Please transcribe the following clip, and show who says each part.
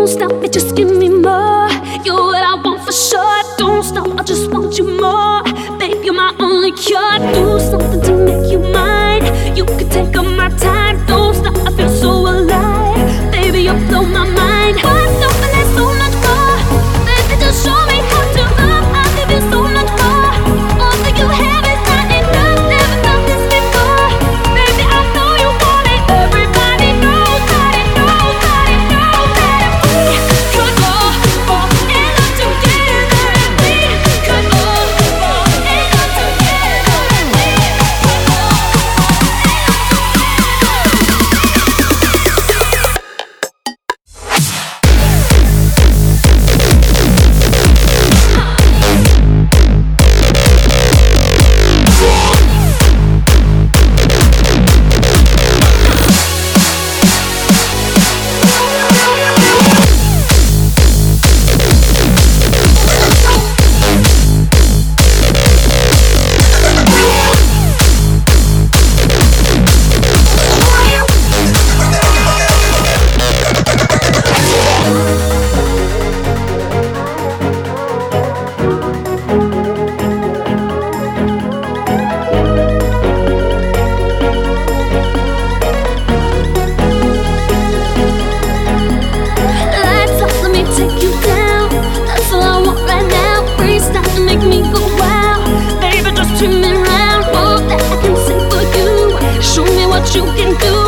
Speaker 1: Don't stop it, just give me more. You're what I want for sure. Don't stop, I just want you more. Babe, you're my only cure. Do something to make you mine. You can take up my time. Don't stop, I feel so alive. Baby, you blow my mind. What's up and there's so much more. Baby, just show me how to love. I'll give you so much more. All that you have is not enough. Never felt this before. Baby, I know you want it. Everybody knows that it knows that it knows that we could all fall in love together. We could all fall in love together. We could all fall lights up, let me take you down. That's all I want right now. Freestyle to make me go wow. Baby, just turn me around. All that I can say for you. Show me what you can do.